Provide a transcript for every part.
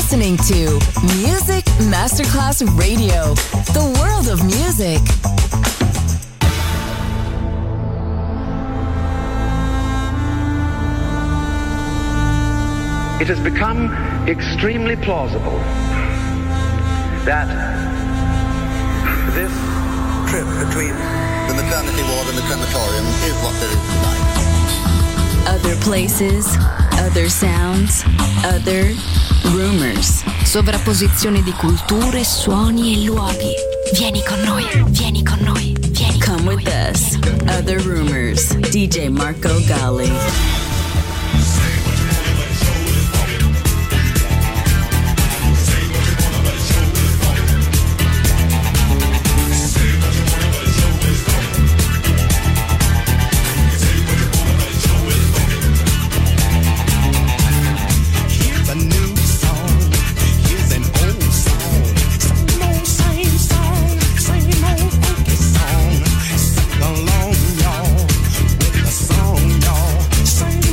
listening to Music Masterclass Radio, the world of music. It has become extremely plausible that this trip between the maternity ward and the crematorium is what there is tonight. Other places, other sounds, other rumors. Sovrapposizione di culture, suoni e luoghi. Vieni con noi, vieni con noi, vieni con Come noi. with us. Other rumors. DJ Marco Gally. Sing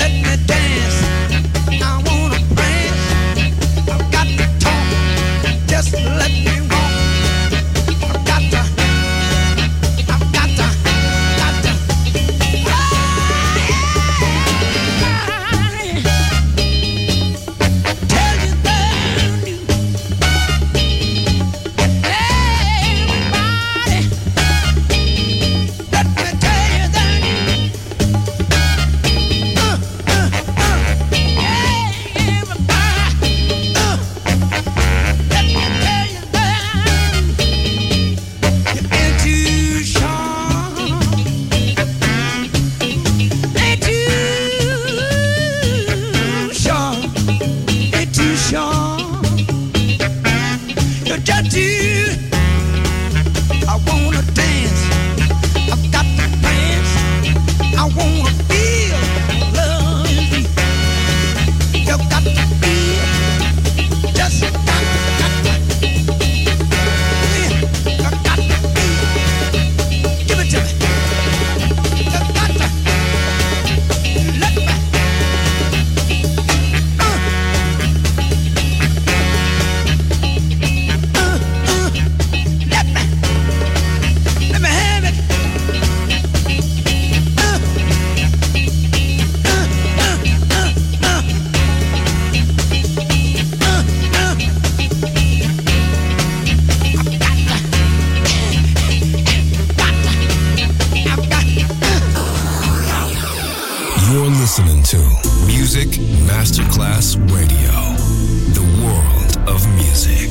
Masterclass Radio, the world of music.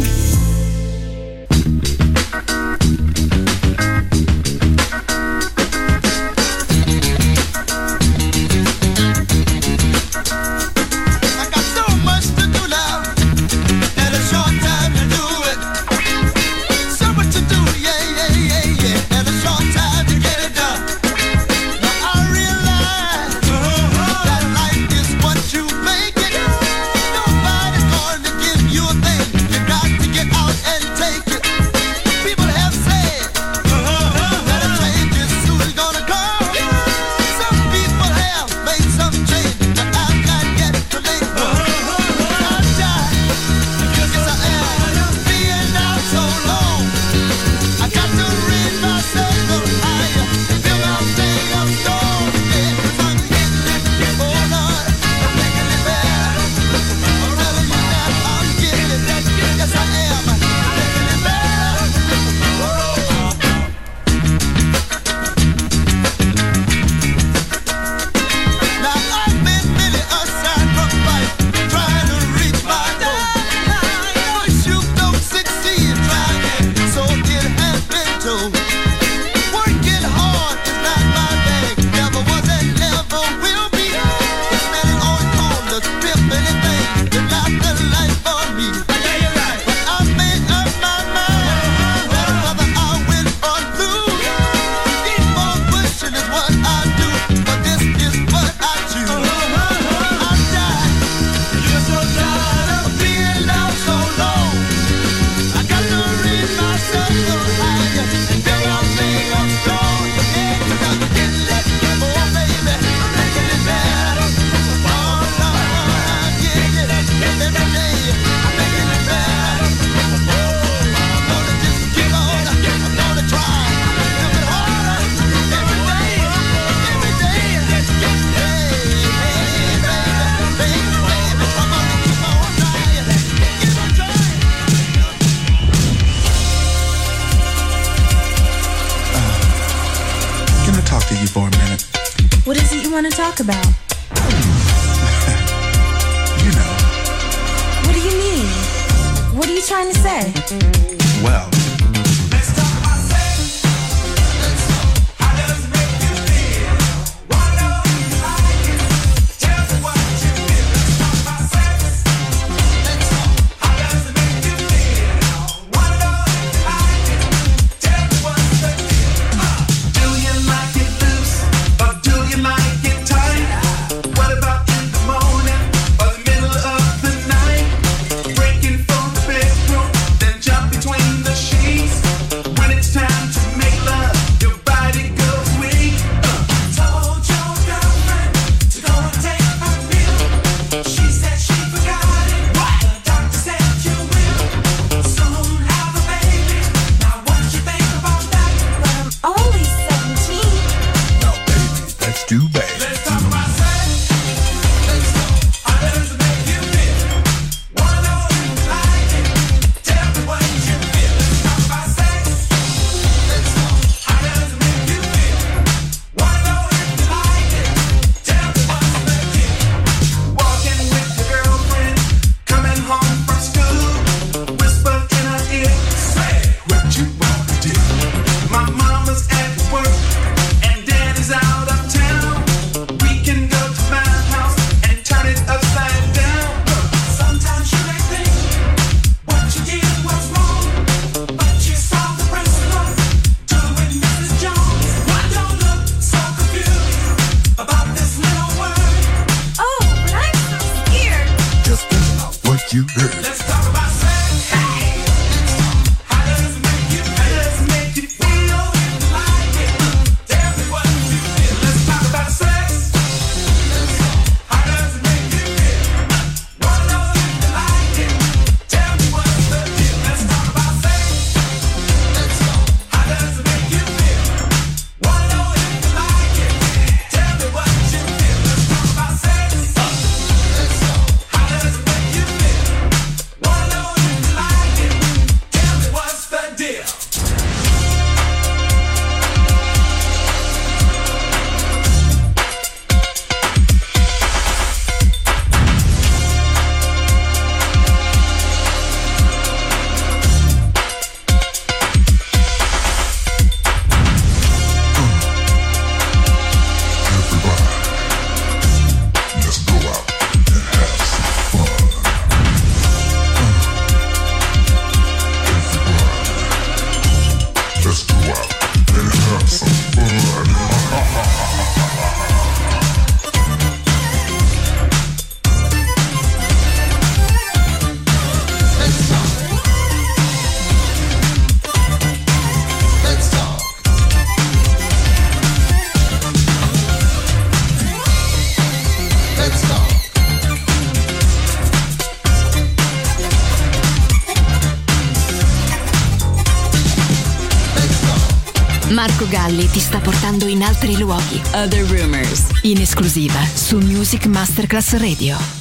About? You know. What do you mean? What are you trying to say? Well, Between the make you hurt. Let's talk about sex. How does it make you feel? How does it make you feel? Like it. Tell me what you feel. Let's talk about sex. How does it make you feel? Wanna know if you like it. Tell me what's the deal. Let's talk about sex. How does it make you feel? Wanna know if you like it. Tell me what you feel. Let's talk about sex. How does it make you feel? Wanna know if you like it. Tell me what's the deal. Let's go out and have some fun. Let's go out and have some fun. Marco Galli ti sta portando in altri luoghi. Other Rumors. In esclusiva su Music Masterclass Radio.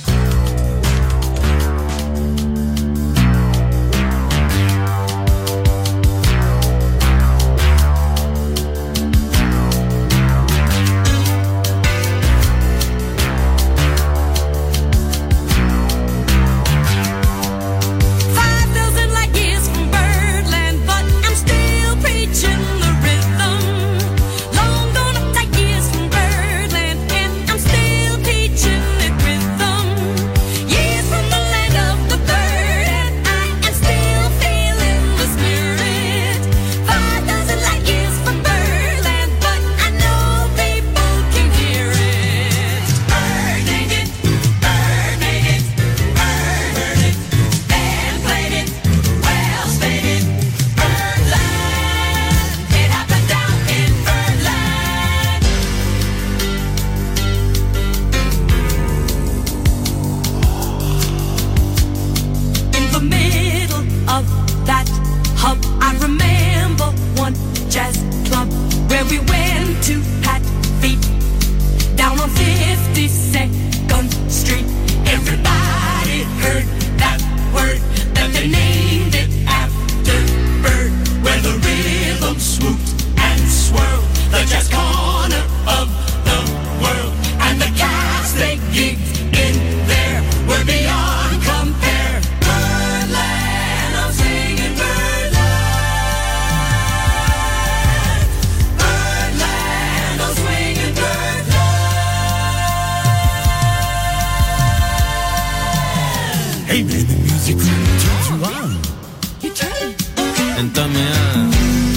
Hey man, the music really turns you on. You turn. Entrame a...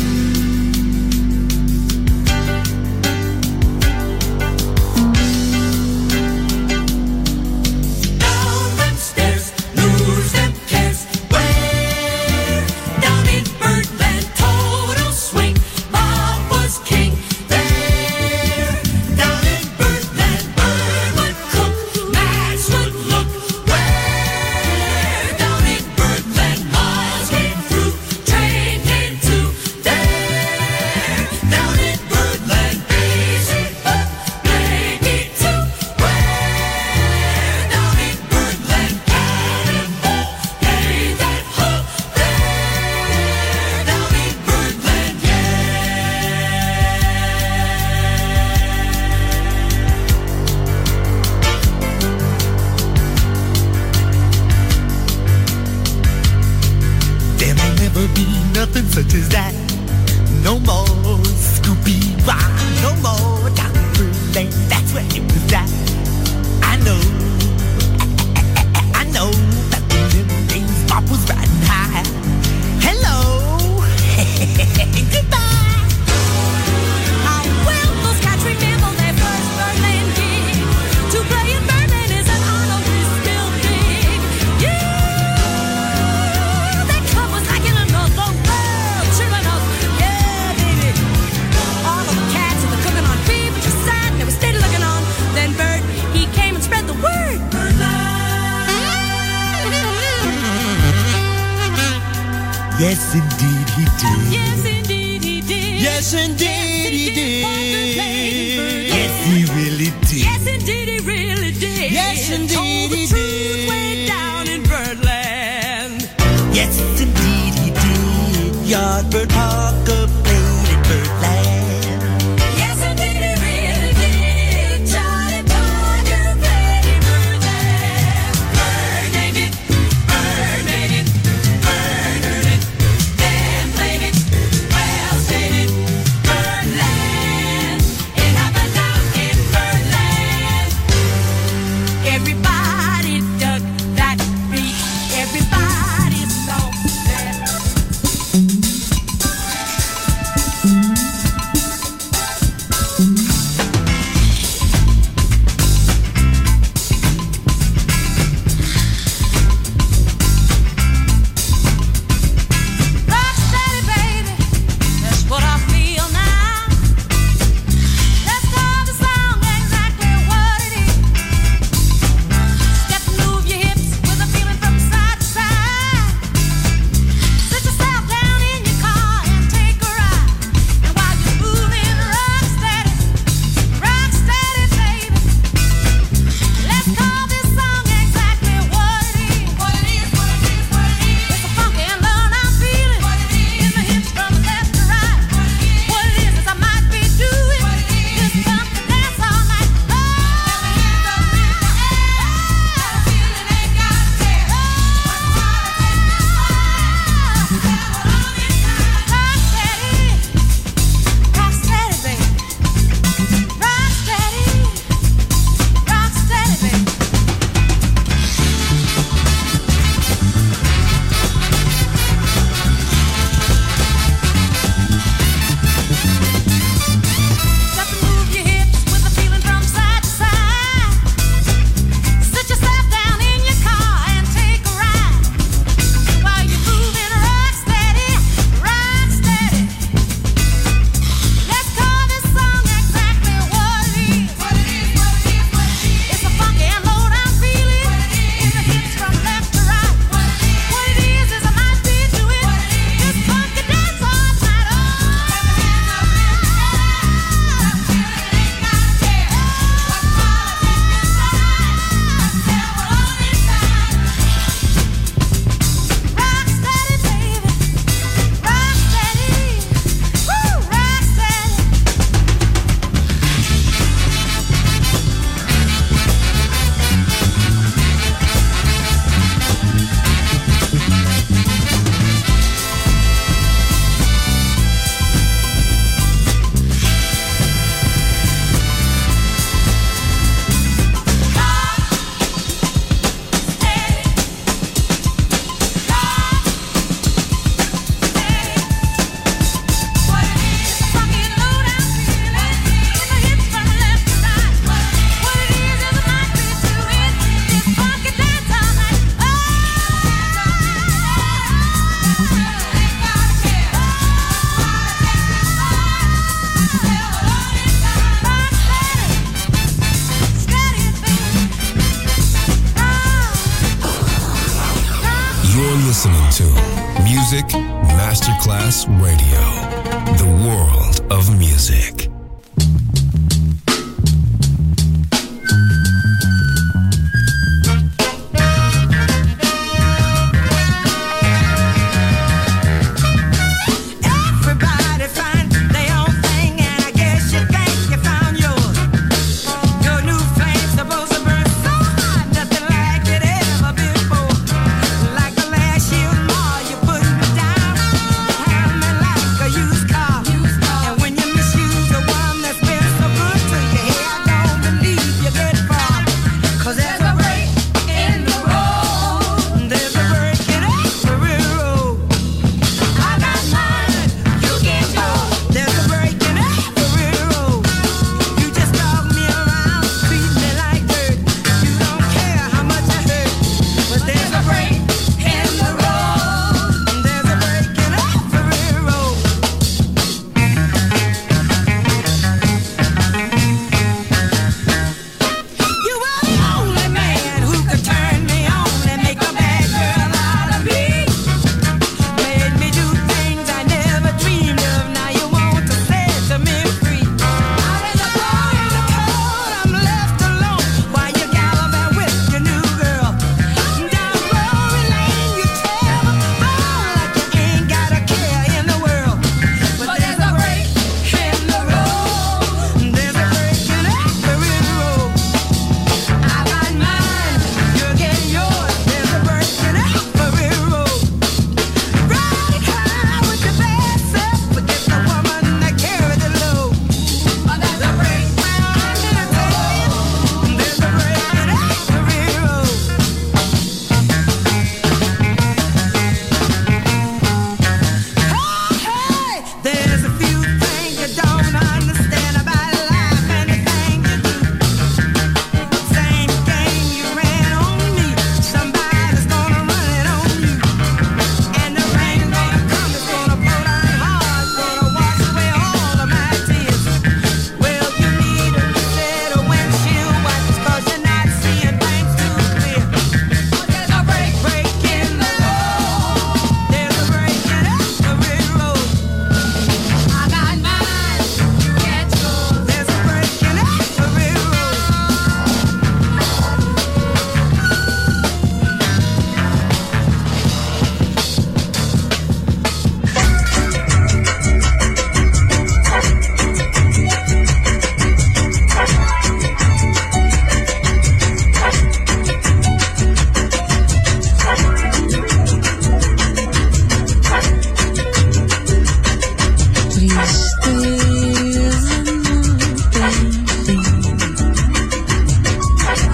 Such as that. No more Scooby Wah, no more Dr. Lane. That's where it was at. I know that in them days Bob was riding high. Hello, goodbye. How will those cats remember their first Birdland gig? To play in Birdland is an honor we still dig. Yeah. Yes, indeed he did. Yes, indeed he did. Yes, indeed he did. Yes, he really did. Yes, indeed he really did. Yes, indeed he did. Way down in Birdland. Yes, indeed he did. Yardbird Parker played in Birdland. Yes, indeed he really did. Charlie Parker played in Birdland. Bird named it. Bird made it. Bird heard it. Then played it. Well stated. Birdland. It happened down in Birdland. Everybody dug that beat. Everybody saw that. Rocksteady, baby, that's what I feel now. Let's call the song exactly what it is. Step and move your hips with a feeling from side to side. Sit yourself down in your car and take a ride. And while you're moving, rocksteady, baby. Let's call this song exactly what it is. What it is, what it is, what it is. It's a funky and low down feeling. What it is. In the hips from left to right. What it is I might be doing. What it is. Just pump the dance all night. Oh, feeling ain't got a care. Rocksteady, baby. Rocksteady, baby. Step and move your hips with a feeling from side to side. Sit yourself down in your car and take a ride. While you're moving, rocksteady. Let's call this song exactly what it is. What it is, what it is, what it is. It's a funky and low down feeling. What it is. In the hips from left to right. What it is I might be doing. What it is. Just funky dance all night. Rocksteady, baby. Rocksteady. Woo, rocksteady. You're listening to Music Masterclass Radio, the world of music. Everybody find their own thing, and I guess you think you found yours. Your new flame's supposed to burn so hot, nothing like it ever before. Like the last year's more, you put me down, handle me like a used car. And when you misuse the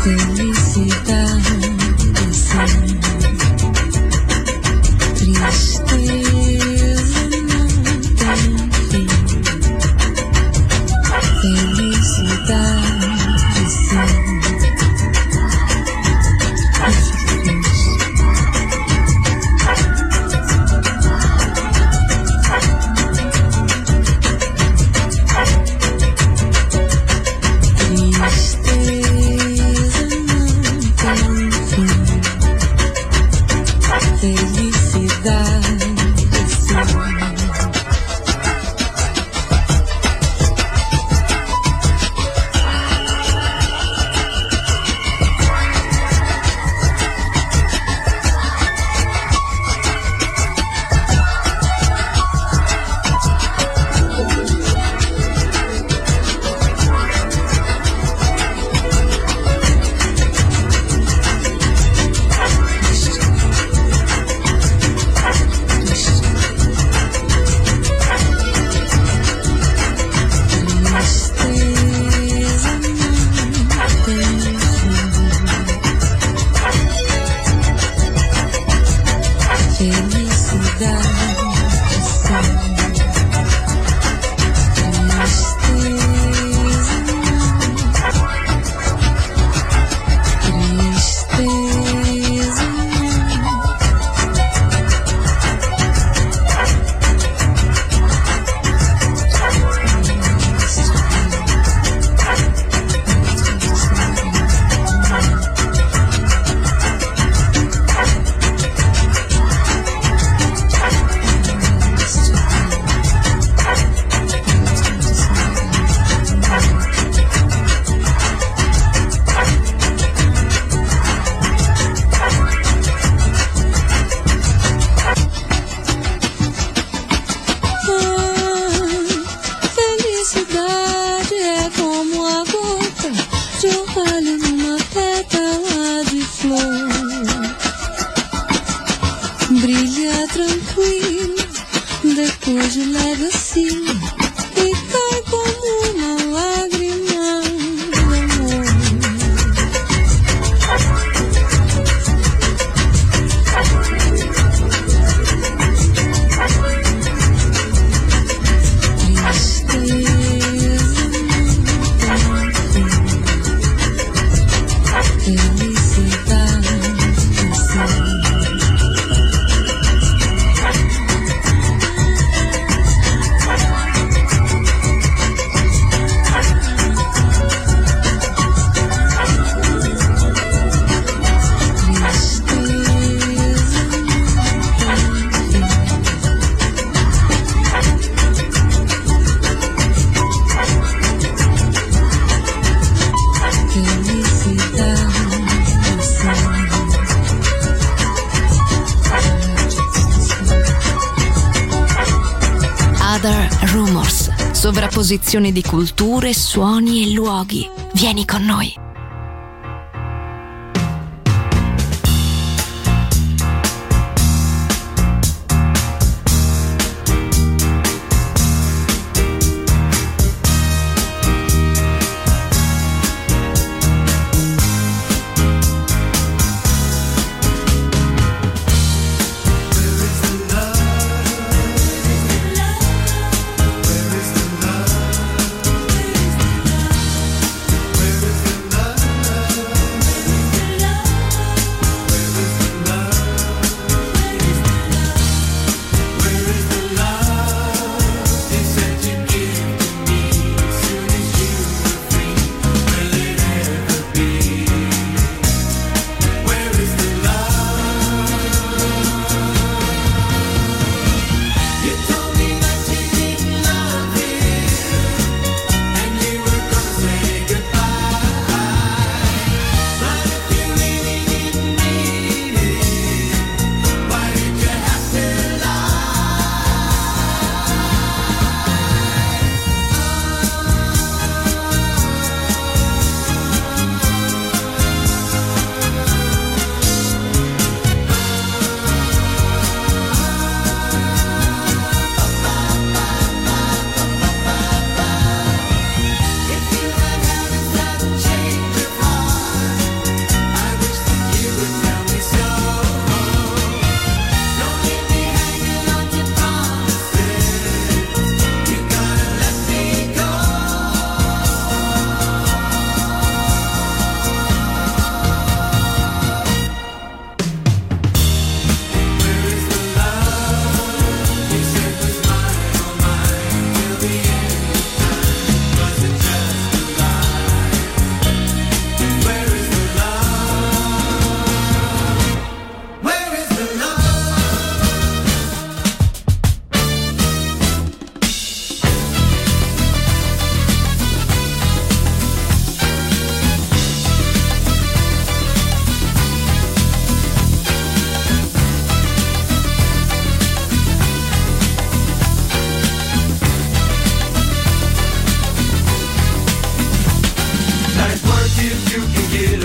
Sovrapposizione di culture, suoni e luoghi. Vieni con noi. Where is the love?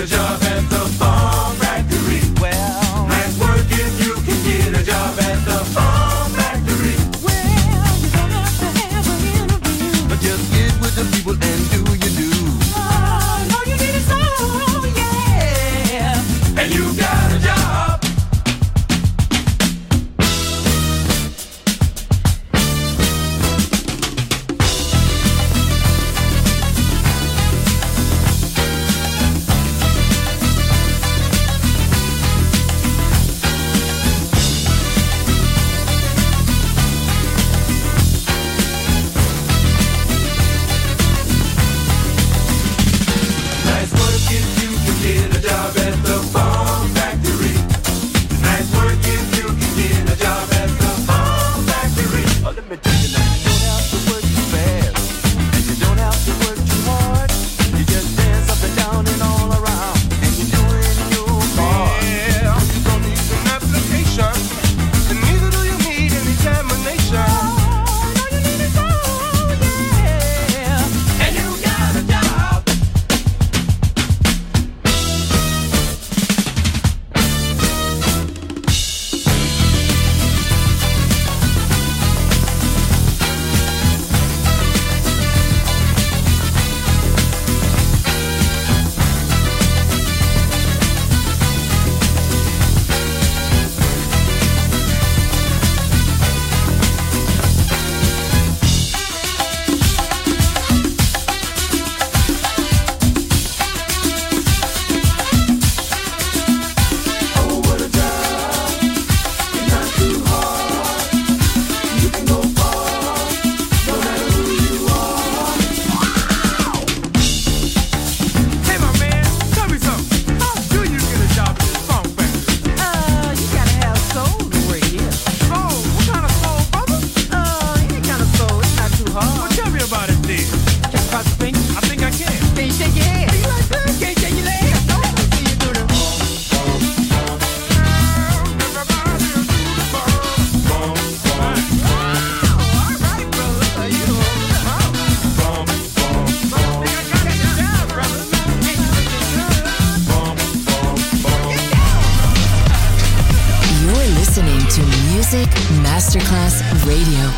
job at the Bomb Factory. Well, nice work if you can get a job at the Bomb Factory. Well, you don't have to have an interview. But just get with the people and do you do. Oh, all you need is soul, yeah. And you got a job. Nice work if you can get a job at the Bomb Factory. Nice work if you can get a job at the Bomb Factory. Oh, let me tell you now, you don't have to work too fast, and you don't have to work too hard. You just dance up and down and all around, and you're doing your part. Yeah, you don't need an application, and neither do you need an examination. All you need is soul, yeah. And you got a job. Oh, what a job. It's not too hard. You can go far, no matter who you are. Hey, my man, tell me something. How do you get a job at the Bomb Factory? You gotta have soul to work here. Soul? What kind of soul, brother? Any kind of soul, it's not too Well, hard. tell me about it then. Can you cross your fingers? I think I can. Can you shake your head? You like that? Can you shake your legs? No, let me see you do the You're listening to Music Masterclass Radio.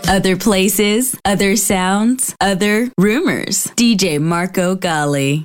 Other places, other sounds, other rumors. DJ Marco Gally.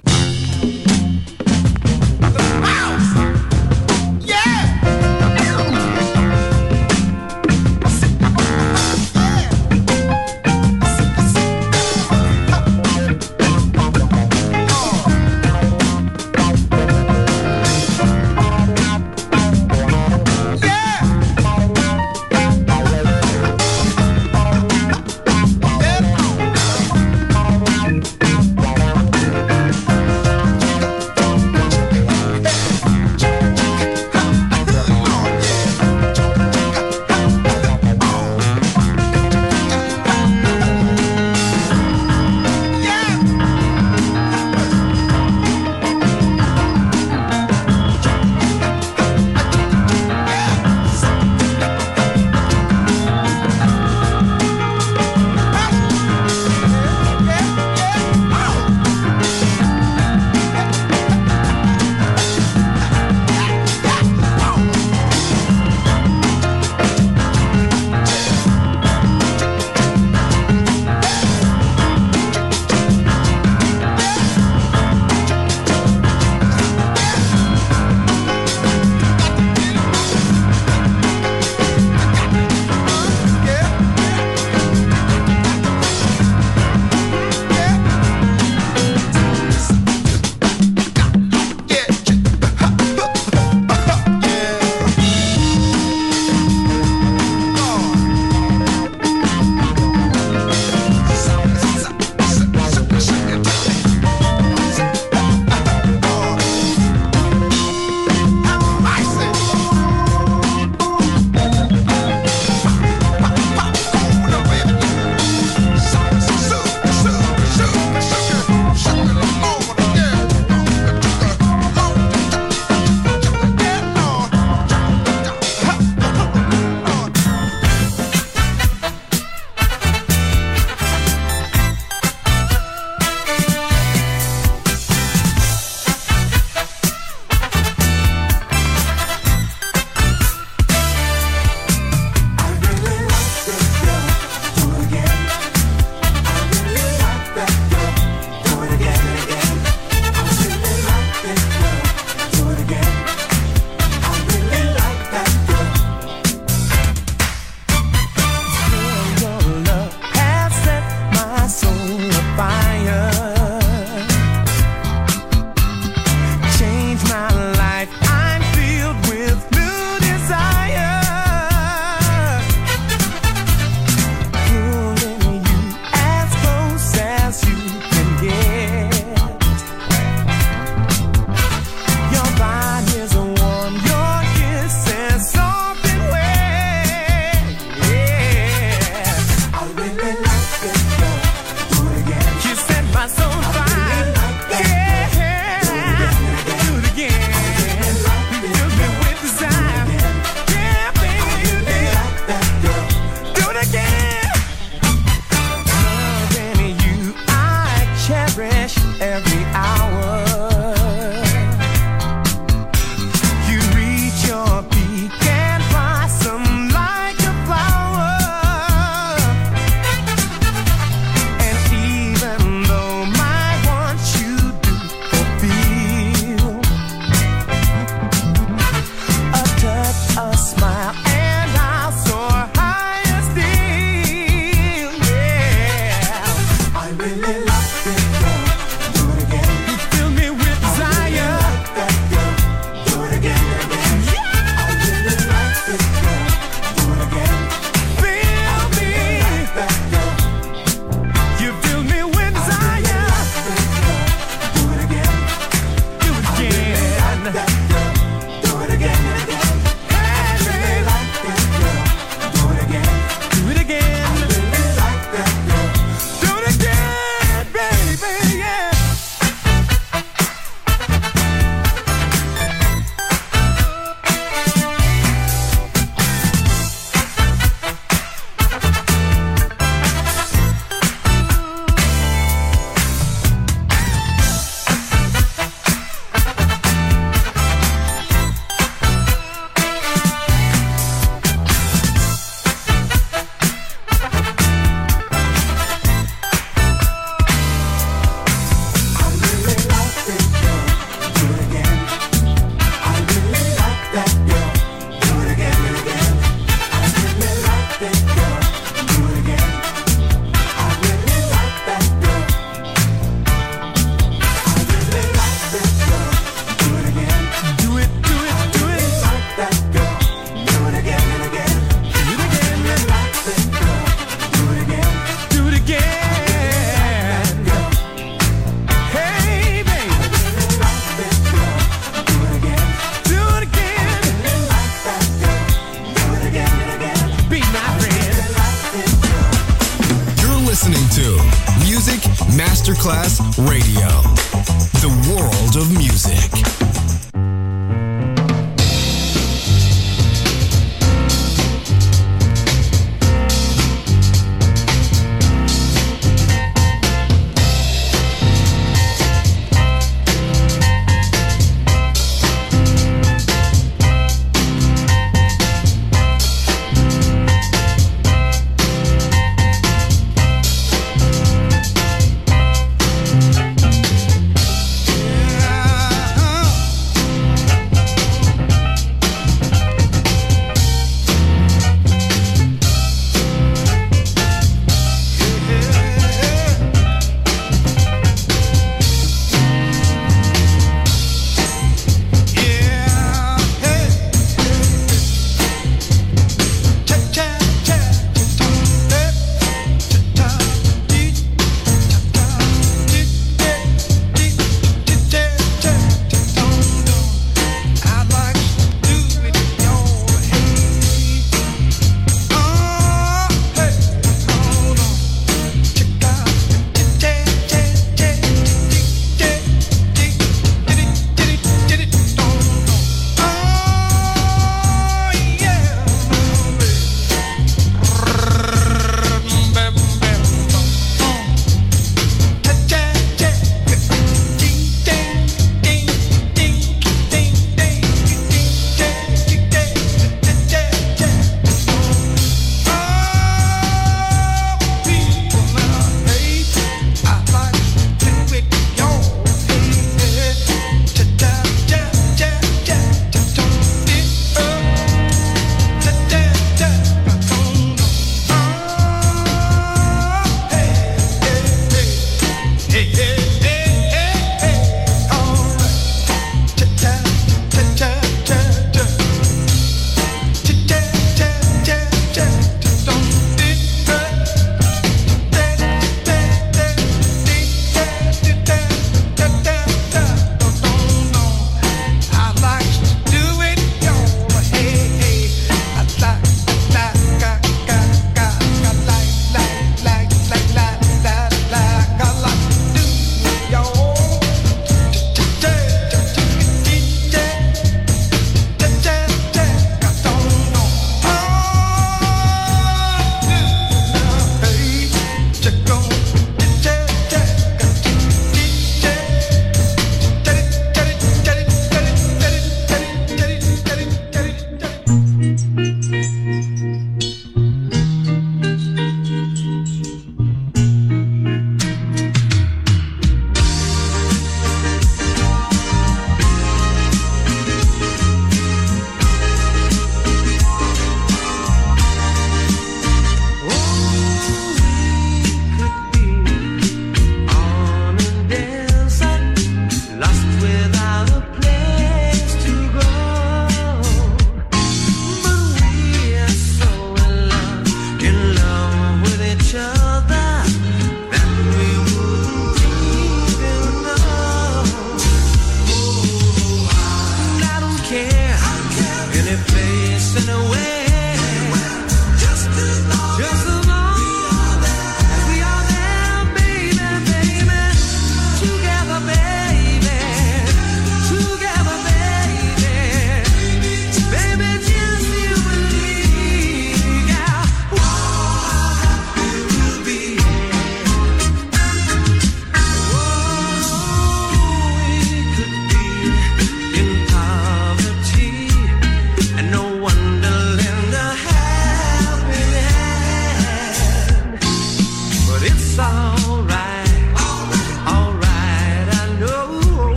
Masterclass Radio, the world of music.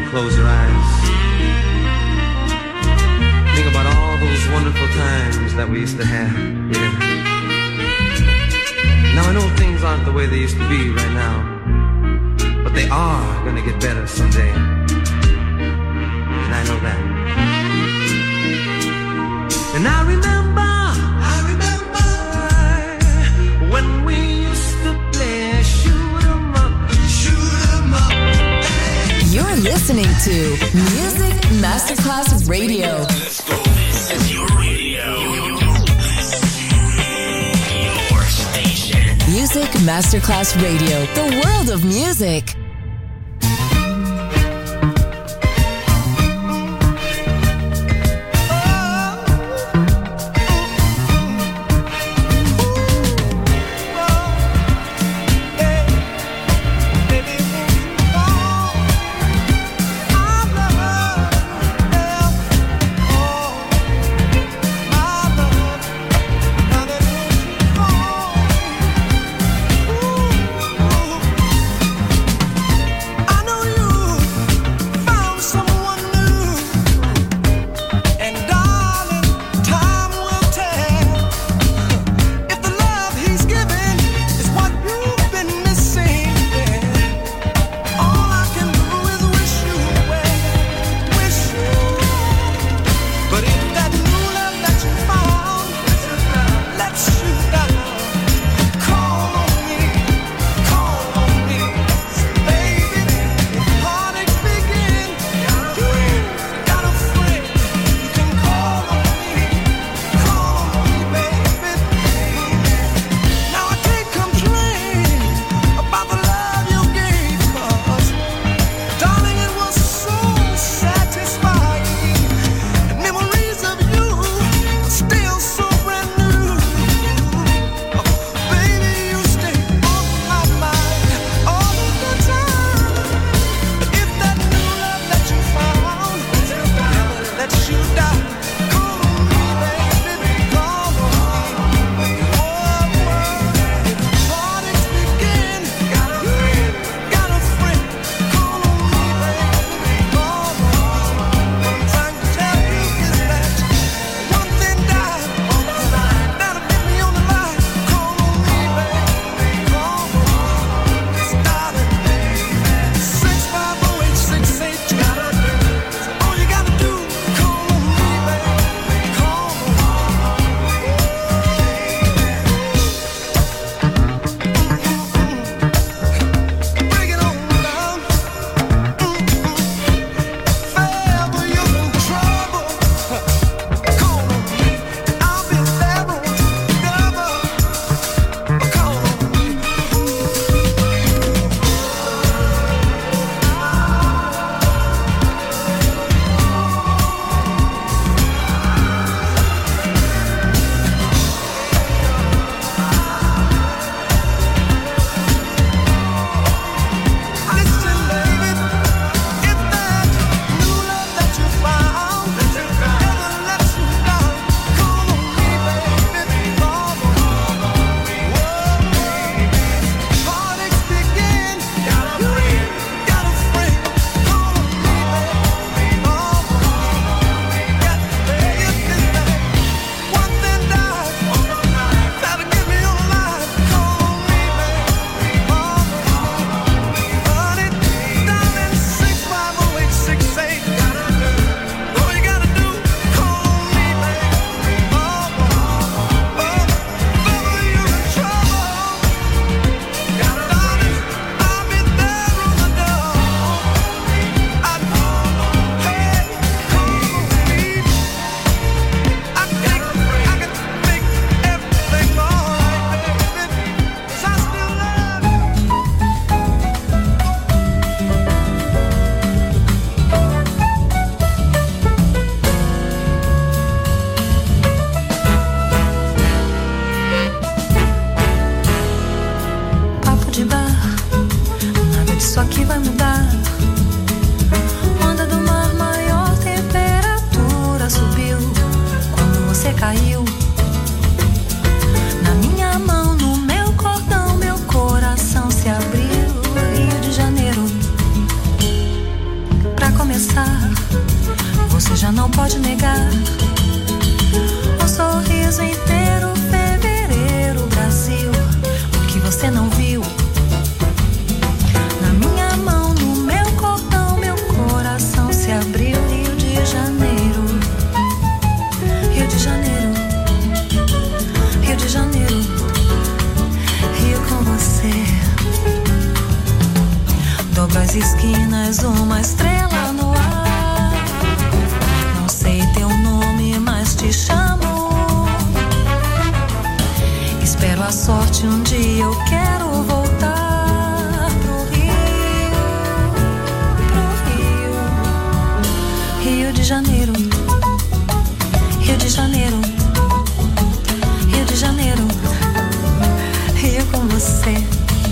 close your eyes. Think about all those wonderful times that we used to have. Yeah. Now I know things aren't the way they used to be right now, but they are gonna get better someday. And I know that. And I remember when we used to play shoot 'em up, shoot 'em up. You're listening to Music Masterclass Radio. Let's go. This is your radio. Your station. Music Masterclass Radio. The world of music. começar, você já não pode negar. Um sorriso inteiro, fevereiro, Brasil. O que você não viu? Na minha mão, no meu cordão, meu coração se abriu. Rio de Janeiro, Rio de Janeiro, Rio de Janeiro, Rio com você. Dobra as esquinas, uma estrela no ar. Não sei teu nome, mas te chamo. Espero a sorte, um dia eu quero voltar pro Rio, Rio de Janeiro, Rio de Janeiro, Rio de Janeiro, Rio com você.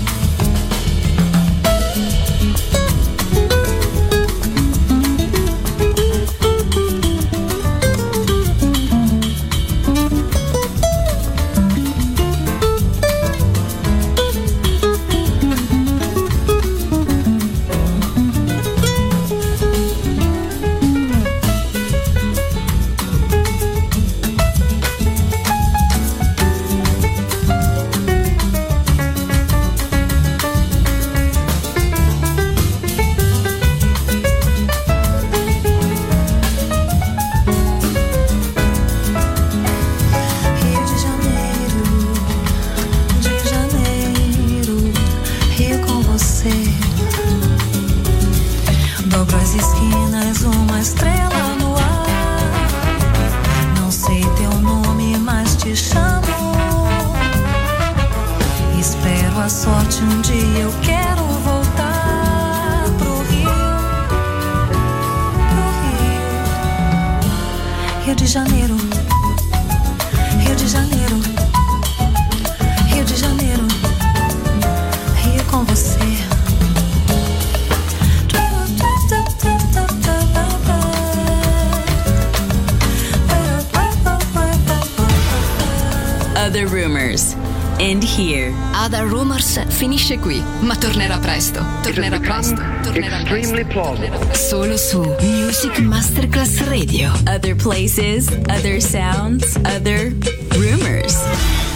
Other Rumors. End here. Other Rumors finisce qui, ma tornerà presto. Tornerà presto. Extremely plausible. Solo su Music Masterclass Radio. Other places, other sounds, other rumors.